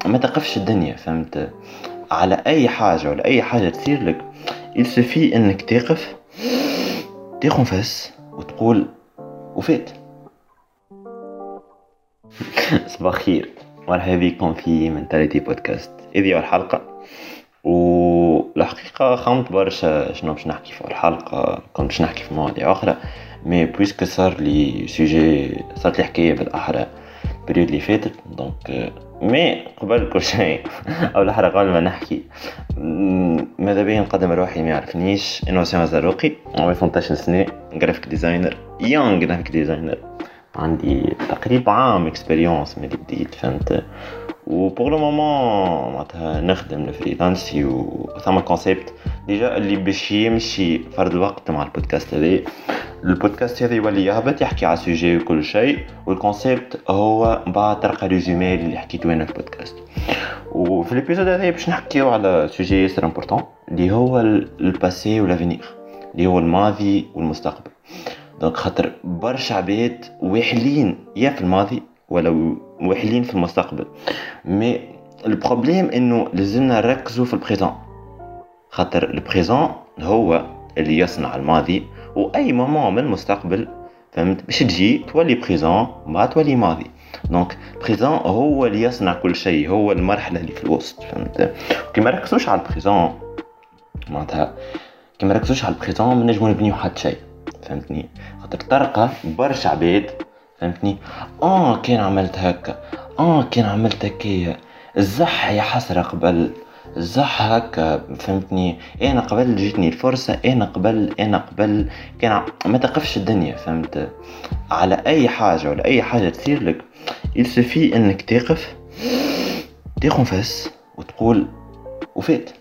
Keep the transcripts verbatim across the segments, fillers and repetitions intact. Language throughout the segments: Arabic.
ما تقفش الدنيا، فهمت؟ على اي حاجه ولا اي حاجه تصير لك يلسفي انك تقف تاخذ نفس وتقول وفات. صباح خير، مرحبا بكم في منتاليتي بودكاست. هذه أول حلقة، والحقيقة خمت برشا شنو باش نحكي في الحلقة. كنت باش نحكي في مواضيع أخرى، مي بويسك صار لي سوجي، صارت لي حكاية بالأحرى البريود اللي فاتت. دونك مي قبل كل شيء أو الأحرى قبل ما نحكي، ماذا بيا نقدم روحي. ما يعرفنيش، أنا وسام زاروقي، عمري ثمانية عشر سنة، جرافيك ديزاينر، يونغ جرافيك ديزاينر. عندي تقريبا عام اكسبيريونس من بديت، فهمت؟ وبور لو مومون معناتها نخدم الفريلانسي، وثما كونسيبت ديجا اللي باش يمشي فرد الوقت مع البودكاست هذا. البودكاست هذا يولي يهبط يحكي على سوجي وكل شيء، والكونسيبت هو بعد تلقى ريزومي اللي حكيته انا في البودكاست. وفي الابيزود هذا باش نحكيو على سوجي سير امبورطون اللي هو الباسي والافينير، اللي هو الماضي والمستقبل. دونك خاطر برشا عباد واحلين يا في الماضي ولا واحلين في المستقبل، مي البروبليم انه لازمنا نركزوا في البريزون، خاطر البريزون هو اللي يصنع الماضي، واي مومون من المستقبل فهمت باش تجي تولي بريزون ما تولي ماضي. دونك البريزون هو اللي يصنع كل شيء، هو المرحله اللي في الوسط، فهمت؟ كي ما ركزوش على البريزون معناتها كي ما ركزوش على البريزون ما نجمو نبنيو حتى شيء، فهمتني؟ خاطر تلقى برشا عباد فهمتني اه كان عملت هكا، اه كان عملت هكايا، الزح يا حسرة قبل، الزح هكا، فهمتني؟ انا قبل جيتني الفرصة، انا قبل انا قبل كان ع... ما تقفش الدنيا، فهمت؟ على اي حاجة ولا اي حاجة تصير لك يلسفي انك تقف تاخذ نفس وتقول وفات.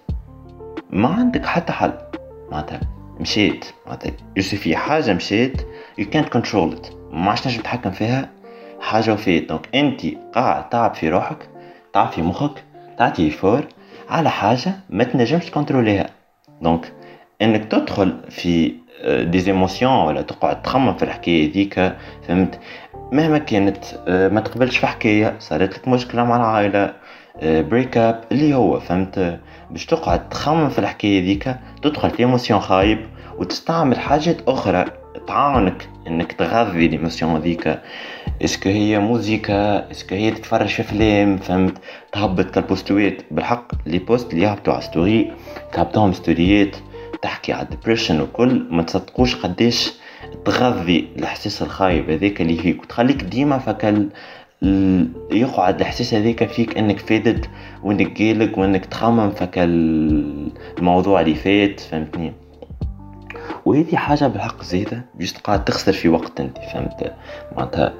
ما عندك حتى حل، معناتها مشيت، معناتها يلسفي حاجة مشيت you can't control it، ما عادش تنجم تتحكم فيها حاجة وفات. دونك انت قاعد تعب في روحك، تعب في مخك، تعطي فور على حاجة ما تنجمش تكنتروليها. دونك انك تدخل في دي زيموسيون ولا تقعد تخمم في الحكاية ذيك، فهمت؟ مهما كانت ما تقبلش في حكاية، صارت لك مشكلة مع العائلة، بريك اب اللي هو، فهمت؟ باش تقعد تخمم في الحكاية ذيك، تدخل في ايموسيون خايب وتستعمل حاجات اخرى تعاونك انك تغذي الايموسيون ذيك. اسكو هي موزيكا، اسكو هي تتفرج في فيلم، فهمت؟ تهبط كالبوستويت. بالحق لي بوست اللي يهبطوا على ستوري تهبطهم ستوريات تحكي على الدبريشن وكل، ما تصدقوش قديش تغذي الاحساس الخايب هذاك اللي فيك، وتخليك ديما فكل يقعد الاحساس هذاك فيك انك فادت وانك قلق وانك تخمم فكل الموضوع اللي فات، فهمتني؟ وهذه حاجة بالحق زيادة جست قاعد تخسر في وقت انت، فهمت؟ معناتها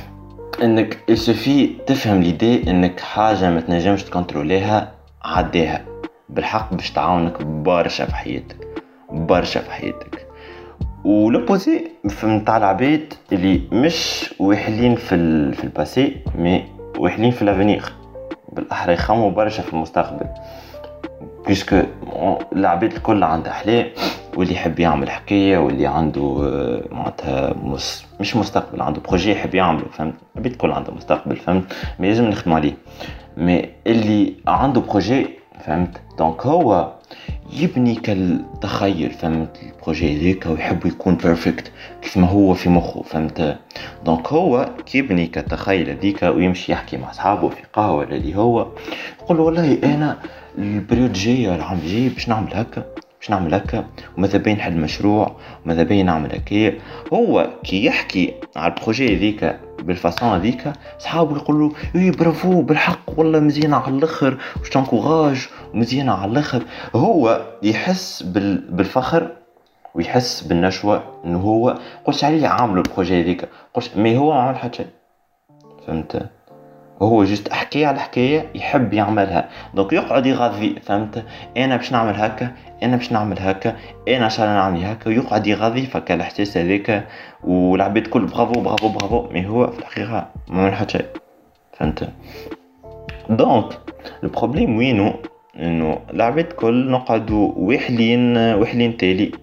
انك يسوفي تفهم ليدي انك حاجة ما تنجمش تكنتروليها عديها، بالحق باش تعاونك برشا في حياتك، برشا في حياتك. ولوبوزي فهمت على العباد اللي مش واحلين في ال... في الباسي مي واحلين في الافينير، بالاحرى يخموا برشا في المستقبل، بيسكو العباد الكل عنده احلام، واللي يحب يعمل حكايه، واللي عنده معناتها مس... مش مستقبل، عنده بروجي يحب يعمله، فهمت؟ العباد الكل عنده مستقبل، فهمت؟ ما لازم نخدم عليه. مي اللي عنده بروجي، فهمت؟ دونك هو يبني كالتخيل، فهمت؟ البروجي ذيك ويحب يكون بيرفكت كيف ما هو في مخه، فهمت؟ دونك هو كيبني كالتخيل ذيك ويمشي يحكي مع اصحابه في قهوه اللي هو يقول والله انا البريود جاي العام الجاي باش نعمل هكا باش نعمل هكا وماذا بين نحل مشروع وماذا بين نعمل هكا. هو كي يحكي على البروجي ذيك بالفاسون ذيك، صحابه يقولوا ايه برافو بالحق والله مزيانه على الاخر واش تنكوراج ومزيانه على الاخر. هو يحس بالفخر ويحس بالنشوه انه هو قلت عليه عامل البروجي ذيك، قلت مي هو ما عمل حتى شيء، فهمت؟ هو جست احكي على الحكايه يحب يعملها، دونك يقعد يغذي، فهمت؟ انا باش نعمل هكا، انا باش نعمل هكا، انا عشان نعمل هكا، ويقعد يغذي فك الاحساس هذاك، والعباد كل برافو برافو برافو، مي هو في الحقيقه ما عمل حتى شيء، فهمت؟ دونك البروبليم وينو؟ انه العباد كل نقعدوا وحلين وحلين تالي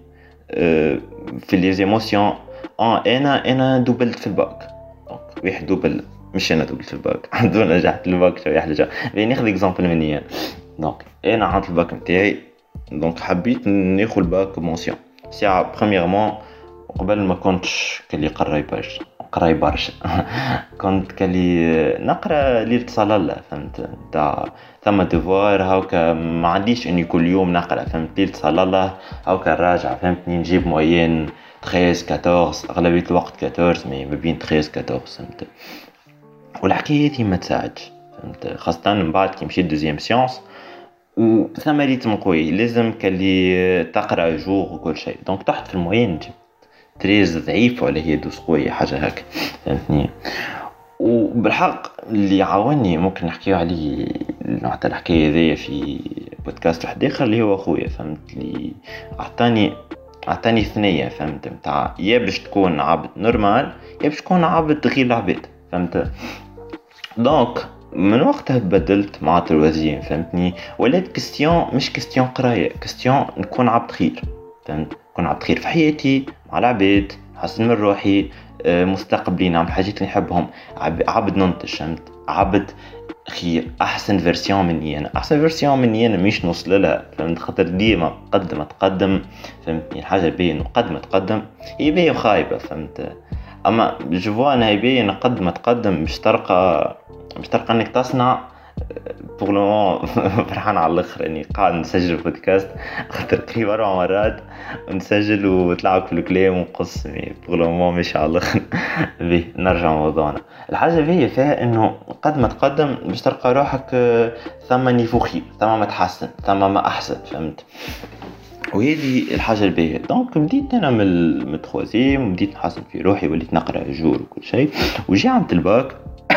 في لي ايموسيون. اه انا انا دوبلت في الباك، دونك واحد دوبل مش انا دوبلت الباك الحمد لله نجحت الباك شويه حاجه. بين ناخذ اكزامبل مني انا. دونك انا عملت الباك نتاعي، دونك حبيت ناخذ الباك مونسيون ساعه بريميرمون. قبل ما كنتش كلي قراي برشا قراي برشا كنت كلي نقرا ليلة صلاة فهمت تاع ثم ديفوار هاوكا ما عنديش اني كل يوم نقرا فهمت ليلة صلاة هاوكا راجع فهمتني نجيب موين تخيز كاتورز اغلبية الوقت كاتورز مي ما بين تخيز كاتورز فهمت. والحكاية هذي ما تساعدش فهمت خاصة من بعد كي مشيت دوزيام سيونس وثم ريتم قوي لازم كلي تقرا جوغ وكل شيء. دونك تحت في الموين جبت تريز ضعيف ولا هي دوس قوية حاجة هكا فهمتني. وبالحق اللي عاوني ممكن نحكيه عليه نوع تاع الحكاية ذي في بودكاست واحد آخر اللي هو أخويا فهمت اللي أعطاني أعطاني ثنية فهمت متاع يا باش تكون عبد نورمال يا باش تكون عبد غير العباد فهمت. دونك من وقتها بدلت مع الوزين فهمتني ولات كستيون مش كستيون قراية كستيون نكون عبد خير فهمت. نكون عبد خير في حياتي مع العباد نحسن من روحي مستقبلي نعمل حاجات اللي نحبهم عبد ننتج فهمت عبد خير احسن فيرسيون مني انا احسن فيرسيون مني انا مش نوصل لها فهمت خاطر ديما قد ما تقدم فهمتني الحاجه باين قد ما تقدم هي باين خايبه فهمت. اما جو انا باين قد ما تقدم باش تلقى باش تلقى انك تصنع بور لو فرحان على الاخر اني قاعد نسجل بودكاست خاطر قريب اربع مرات نسجل وطلعوا كل كلام ونقص بور لو ماشي على الاخر. بيه نرجع موضوعنا. الحاجه فيها فيها انه قد ما تقدم باش تلقى روحك ثم نيفو خير ثم ما تحسن ثم ما احسن فهمت. وهذه الحاجه الباهيه. دونك بديت انا من التخوازيم وبديت نحسن في روحي وليت نقرا جور وكل شيء وجي عملت الباك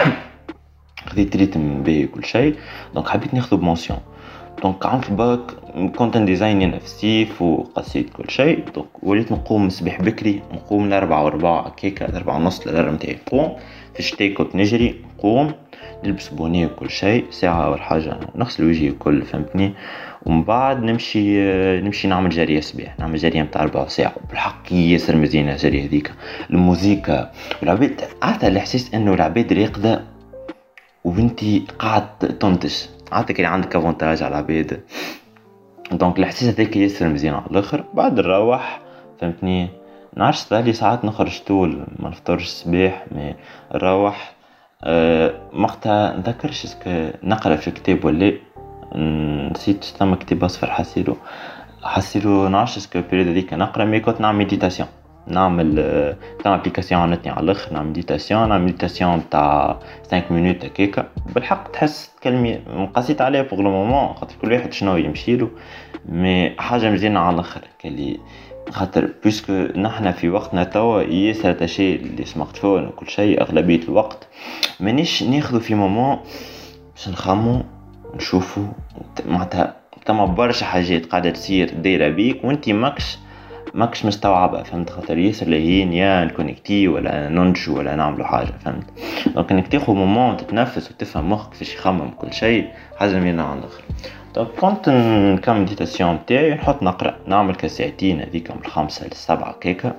خذيت ريتم باهي كل شيء. دونك حبيت ناخذ بمونسيون. دونك عملت الباك كونتنت ديزاين نفسي وقصيت كل شيء. دونك وليت نقوم صباح بكري نقوم لأربعة وربع كيكا أربعة ونص للأربعة متاعي نقوم في الشتاء كنت نجري نقوم نلبس بونيه وكل شيء ساعة أول حاجة نغسل وجهي وكل فهمتني. ومن بعد نمشي نمشي نعمل جريه صباح نعمل جريه متاع أربع ساعة. بالحق ياسر مزيانة الجريه هذيك الموسيقى والعباد عارفة الإحساس إنه العباد راقدة وبنتي قاعد تنتج عادك اللي عندك افونتاج على العباد. دونك الاحساس هذاك ياسر مزيان على الاخر. بعد نروح فهمتني نعرفش بالي ساعات نخرج طول ما نفطرش الصباح ما نروح أه مقتها نذكرش اسكو نقرا في كتاب ولا نسيت ثم كتاب اصفر حسيلو حسيلو نعرفش اسكو البريود هذيك نقرا مي كنت نعمل ميديتاسيون نعمل تاع ابليكاسيون عندني على الاخر نعمل ميديتاسيون نعمل ميديتاسيون تاع خمسة مينوت هكاك. بالحق تحس تكلمي مقاسيت عليها بوغ لو مومون خاطر كل واحد شنو يمشي له مي حاجه مزيانه على الاخر كلي خاطر بيسكو نحنا في وقتنا توا ياسر تشي اللي سمارت فون وكل شيء اغلبيه الوقت مانيش ناخذ في مومون باش نخمو نشوفوا معناتها تما برشا حاجات قاعده تصير دايره بيك وانتي ماكش ماكش مستوعبه فهمت خاطر ياسر لهين يا نكونيكتي ولا ننجو ولا نعملوا حاجه فهمت. دونك انك تاخذ مومون تتنفس وتفهم مخك كيفاش يخمم كل شيء حاجه مينا على الاخر. دونك كنت نكمل مديتاسيون تاعي نحط نقرا نعمل كساعتين هذيك من الخمسة للسبعة كيكه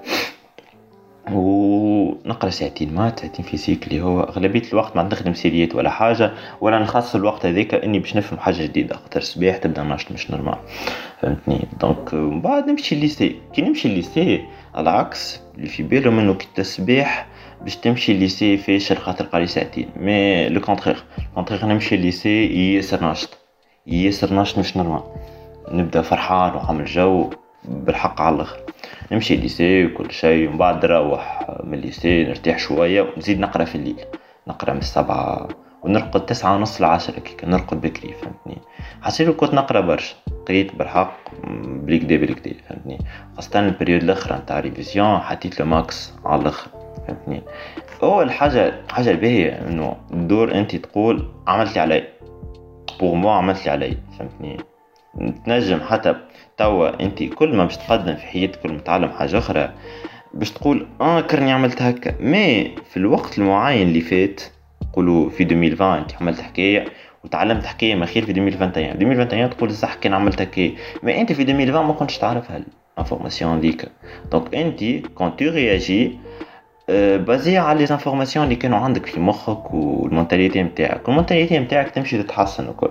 ونقرا ساعتين مات ساعتين فيزيك اللي هو اغلبيه الوقت ما نخدم سيريات ولا حاجه ولا نخصص الوقت هذاك اني باش نفهم حاجه جديده خاطر الصباح تبدا نشط مش نورمال فهمتني. دونك من بعد نمشي الليسي كي نمشي الليسي على العكس اللي في باله منه كي الصباح باش تمشي الليسي فاشل خاطر قاري ساعتين مي لو كونترير كونترير نمشي الليسي ياسر نشط ياسر نشط مش نورمال نبدا فرحان وعامل جو بالحق على الاخر. نمشي الليسي وكل شيء ومن بعد نروح من الليسي نرتاح شويه ونزيد نقرا في الليل نقرا من السبعة ونرقد تسعة ونص لعشرة كيك نرقد بكري فهمتني. حسيت كنت نقرا برشا قريت بالحق بليكدي بليكدي فهمتني خاصة البريود الاخر نتاع ريفيزيون حطيت له ماكس على الاخر فهمتني. اول حاجه حاجه باهيه انه الدور انت تقول عملت لي علي بوغ مو عملت لي علي فهمتني. تنجم حتى توا انت كل ما باش تقدم في حياتك كل ما تعلم حاجه اخرى باش تقول اه كرني عملت هكا مي في الوقت المعين اللي فات قولوا في ألفين وعشرين انت عملت حكايه وتعلمت حكايه ما خير في ألفين وواحد وعشرين ألفين وواحد وعشرين تقول صح كان عملت هكا مي انت في ألفين وعشرين ما كنتش تعرف هالانفورماسيون ديك. دونك انت كون تو رياجي بازي على لي زانفورماسيون اللي كانوا عندك في مخك والمونتاليتي نتاعك والمونتاليتي نتاعك تمشي تتحسن وكل.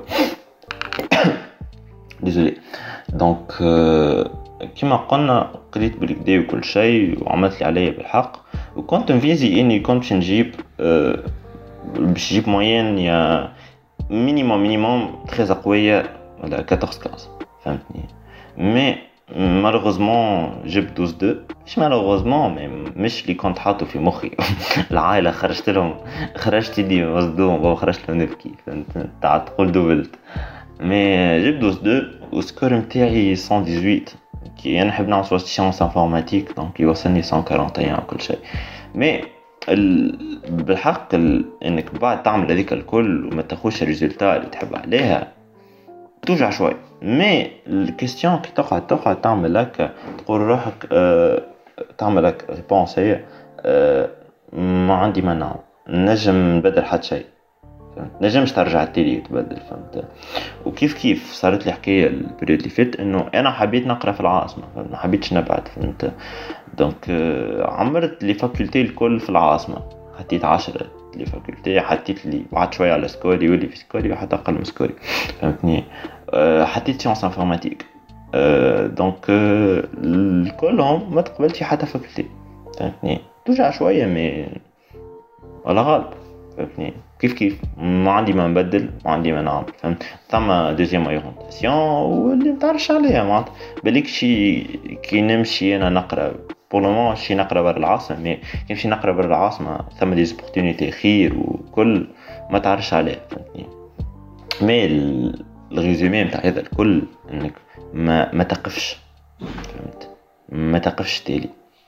ديزولي. دونك كيما قلنا قريت بالكدا وكل شيء وعملت اللي عليا بالحق وكنت مفيزي اني كنت باش نجيب باش نجيب موين يا مينيموم مينيموم تري قويه ولا أربعطاش خمسطاش فهمتني. مي مالوغوزمون جبت اثنا عشر اثنين مش مالوغوزمون مش اللي كنت حاطه في مخي. العائله خرجت لهم خرجت لي مصدوم بابا خرجت لهم نبكي فهمت تاع تقول دوبلت. مي جبت اثنا عشر اثنين والسكور نتاعي مية وثمانية وثمانين كي انا نحب نعرف سيونس انفورماتيك دونك يوصلني مية وواحد وأربعين وكل شيء. مي ال... بالحق ال... انك بعد تعمل هذيك الكل وما تاخذش الريزلتا اللي تحب عليها توجع شوي. مي الكيستيون كي تقعد تقعد تعمل لك تقول روحك أه... تعمل لك ريبونس هي أه... ما عندي ما نعمل نجم نبدل حتى شيء فهمت نجمش ترجع التالي وتبدل فهمت. وكيف كيف صارت لي حكايه البريود اللي فات انه انا حبيت نقرا في العاصمه ما حبيتش نبعد فهمت. دونك عمرت لي فاكولتي الكل في العاصمه حطيت عشرة لي فاكولتي حطيت لي بعد شويه على سكوري واللي في سكوري وحتى اقل من سكوري فهمتني. حطيت سيونس انفورماتيك دونك الكلهم ما تقبلت في حتى فاكولتي فهمتني. توجع شويه مي ولا غالب فهمتني. كيف كيف ما عندي ما نبدل ما عندي ما نعمل فهمت. ثم دوزيام اورينتاسيون واللي متعرفش عليها معناتها بالك شي كي نمشي انا نقرا بولومون شي نقرا برا العاصمه مي كي نمشي نقرا برا العاصمه ثم دي زوبورتونيتي خير وكل ما تعرفش عليها فهمتني. مي الريزومي نتاع هذا الكل انك ما ما تقفش فهمت ما تقفش تالي.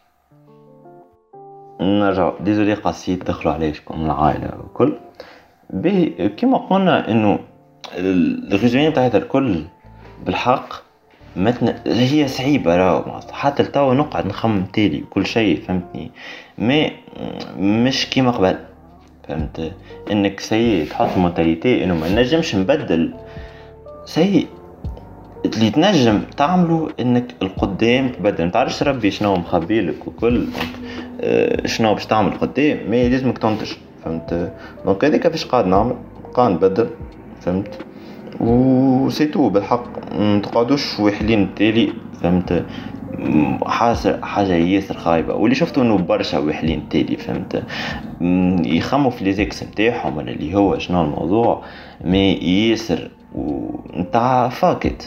نرجع ديزولي قاسيت دخلوا عليه شكون العائله وكل به كما قلنا انه الريزومي تاع هذا الكل بالحق متن هي صعيبه راهو حتى لتوا نقعد نخمم تالي وكل شيء فهمتني. مي مش كيما قبل فهمت انك سي تحط مونتاليتي انه ما نجمش نبدل سي اللي تنجم تعمله انك القدام تبدل. متعرفش ربي شنو مخبيلك وكل اه شنو باش تعمل قدام مي لازمك تنتج فهمت. دونك هذيك فاش قاعد نعمل قاعد نبدل فهمت وسيتو بالحق متقعدوش وحلين التالي فهمت. حاجه حاجه ياسر خايبه واللي شفته انه برشا وحلين التالي فهمت يخموا في لي زيكس نتاعهم ولا اللي هو شنو الموضوع مي ياسر ونتاع فاكت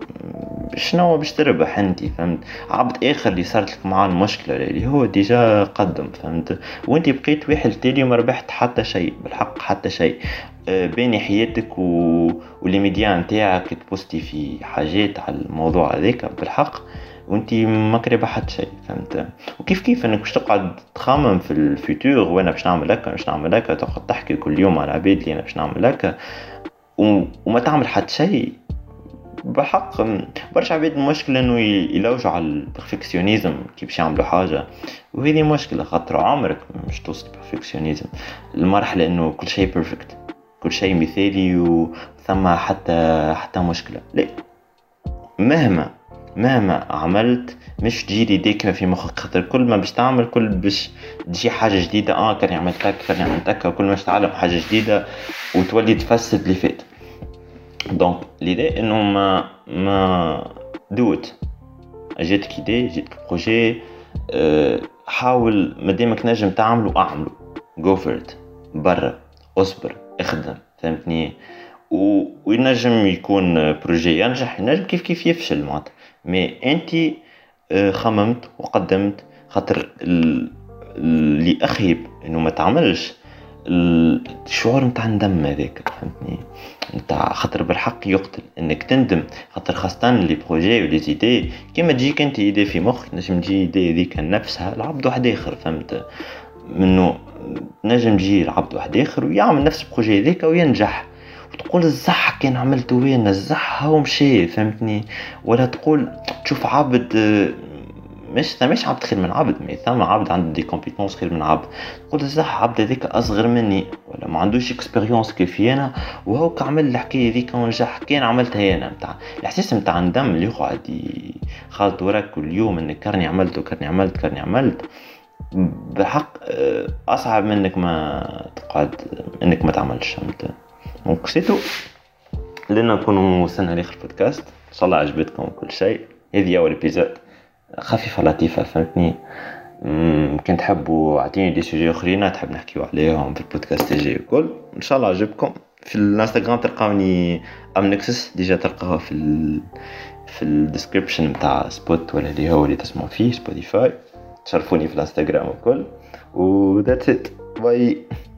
شنو باش تربح انتي فهمت. عبد اخر اللي صارت لك معاه المشكله اللي هو ديجا قدم فهمت وانتي بقيت واحد تالي وما ربحت حتى شيء بالحق حتى شيء. بين حياتك و... واللي ميديا نتاعك تبوستي في حاجات على الموضوع هذاك بالحق وانتي ما كرهبه حتى شيء فهمت. وكيف كيف انك باش تقعد تخمم في الفيتور وانا باش نعمل هكا باش نعمل هكا تقعد تحكي كل يوم على العباد اللي انا باش نعمل هكا و... وما تعمل حتى شيء بحق. برشا عباد المشكلة انه يلوجوا على البرفكسيونيزم كي باش يعملوا حاجة وهذه مشكلة خاطر عمرك مش توصل البرفكسيونيزم المرحلة انه كل شيء بيرفكت كل شيء مثالي وثم حتى حتى مشكلة لا. مهما مهما عملت مش تجي ديك في مخك خاطر كل ما باش تعمل كل باش تجي حاجة جديدة اه كان عملت هكا كان عملت هكا كل ما باش تتعلم حاجة جديدة وتولي تفسد اللي فات. دونك l'idée انه ما ما دوت جاتك ايدي جاتك بروجي أه حاول مادامك نجم تعمله اعمله جو فور ات برا اصبر اخدم فهمتني. و... وينجم يكون بروجي ينجح ينجم كيف كيف يفشل معناتها مي انتي أه خممت وقدمت خاطر ال... اللي اخيب انه ما تعملش الشعور متاع الندم هذاك فهمتني نتاع خاطر بالحق يقتل انك تندم خاطر خاصة لي بروجي ولي زيدي كيما تجيك انت ايدي في مخك نجم تجي ايدي هذيك نفسها العبد واحد اخر فهمت منه نجم تجي العبد واحد اخر ويعمل نفس البروجي هذاك وينجح وتقول الزح كان عملته وين الزح هو مشي فهمتني. ولا تقول تشوف عبد مش ثماش عبد خير من عبد مي ثم عبد عنده دي كومبيتونس خير من عبد تقول الزح عبد هذيك اصغر مني ولا ما عندوش اكسبيريونس كيفي انا وهو كعمل الحكايه هذيك ونجح كان عملتها انا نتاع الاحساس نتاع الندم اللي يقعد خالط وراك كل يوم انك كرني عملت وكرني عملت كرني عملت بالحق آه، اصعب من انك ما تقعد، انك ما تعملش فهمت. دونك سيتو لنا نكونوا وصلنا لاخر بودكاست، ان شاء الله عجبتكم كل شيء. هذه اول ابيزود خفيفه لطيفه فهمتني. مم، كنت تحبوا اعطيني دي سوجي اخرين تحب نحكيو عليهم في البودكاست الجاي الكل، ان شاء الله عجبكم. في الانستغرام تلقاوني امنكسس، ديجا تلقاها في ال... في الديسكريبشن نتاع سبوت ولا اللي هو اللي تسمعوا فيه سبوتيفاي. تشرفوني في الانستغرام الكل، و that's it. باي.